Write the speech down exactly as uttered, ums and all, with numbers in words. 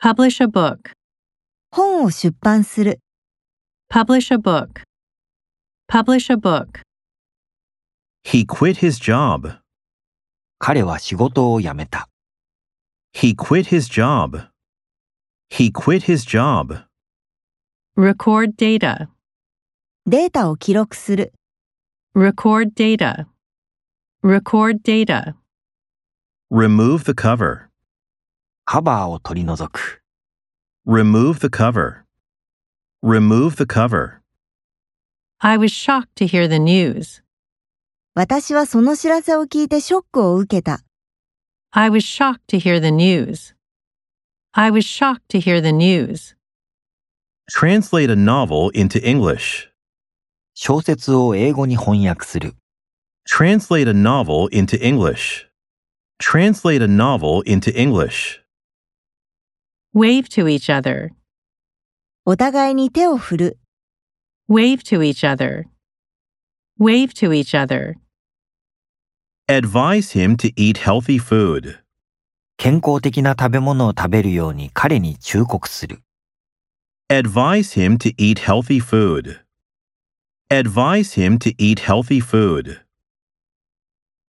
Publish a book. 本を出版する。 Publish a book. Publish a book. He quit his job. 彼は仕事を辞めた。 He quit his job. He quit his job. Record data. データを記録する。 Record data. Record data. Remove the cover. カバーを取り除く。 Remove the cover. Remove the cover. I was shocked to hear the news. 私はその知らせを聞いてショックを受けた。 I was shocked to hear the news. I was shocked to hear the news. Translate a novel into English. 小説を英語に翻訳する。 Translate a novel into English. Translate a novel into English. Wave to each other. お互いに手を振る。 Wave to each other. Wave to each other. Advise him to eat healthy food. 健康的な食べ物を食べるように彼に忠告する。 Advise him to eat healthy food. Advise him to eat healthy food.